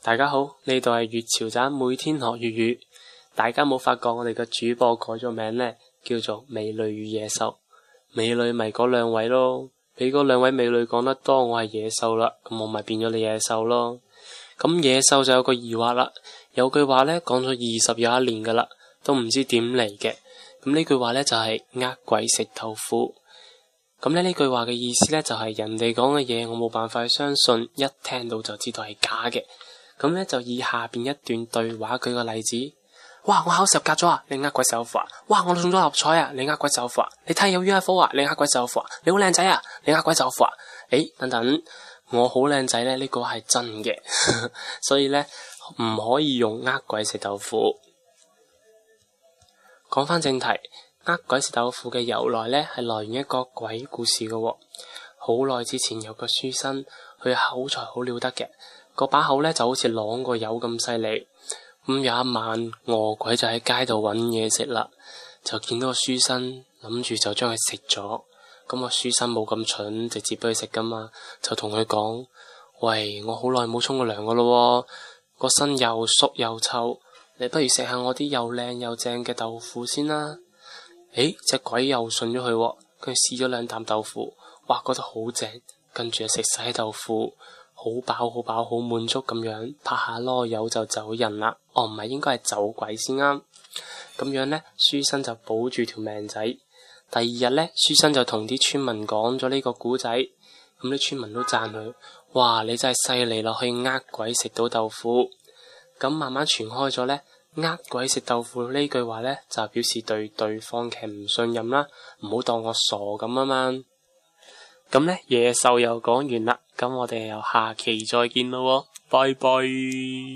大家好，呢度係粵潮站，每天學粵語。大家冇發覺我哋嘅主播改咗名呢，叫做美女與野獸。美女咪嗰兩位咯，俾嗰兩位美女講得多，我係野獸啦，咁我咪變咗你野獸咯。咁野獸就有個疑惑啦，有句話呢講咗20又一年噶啦，都唔知點嚟嘅。咁呢句話呢就係呃鬼食豆腐。咁呢句話嘅意思呢，就係人哋講嘅嘢我冇辦法去相信，一聽到就知道係假嘅。咁呢，就以下邊一段對話舉個例子。哇！我考10格咗啊！你呃鬼食豆腐啊！哇！我中咗六合彩啊！你呃鬼食豆腐啊！你睇有 UFO 啊！你呃鬼食豆腐啊！你好靚仔啊！你呃鬼食豆腐啊！等等，我好靚仔呢，呢個係真嘅，所以呢，唔可以用呃鬼食豆腐。講翻正題，呃鬼食豆腐嘅由來呢，係來源一個鬼故事嘅喎。好耐之前有個書生，佢口才好了得嘅，個把口呢就好似啷個油咁犀利。咁有一晚，餓鬼就喺街度揾嘢食啦，就見到個書生，諗住就將佢食咗。咁個書生冇咁蠢，直接俾佢食噶嘛，就同佢講：喂，我好耐冇沖過涼噶咯，個身又縮又臭，你不如食下我啲又靚又正嘅豆腐先啦。隻鬼又信咗佢，佢試咗2啖豆腐，哇，覺得好正，跟住就食晒豆腐。好飽好飽好滿足咁樣，拍下籮柚就走人啦。唔係，應該係走鬼先啱。咁樣呢，書生就保住條命仔。第2日呢，書生就同啲村民講咗呢個古仔，咁啲村民都讚佢：哇，你真係犀利咯，可以呃鬼食到豆腐。咁慢慢傳開咗呢，呃鬼食豆腐呢句話呢，就表示對對方嘅唔信任啦，唔好當我傻咁啊嘛。咁呢，野獸又講完啦，咁我哋又下期再見咯，拜拜。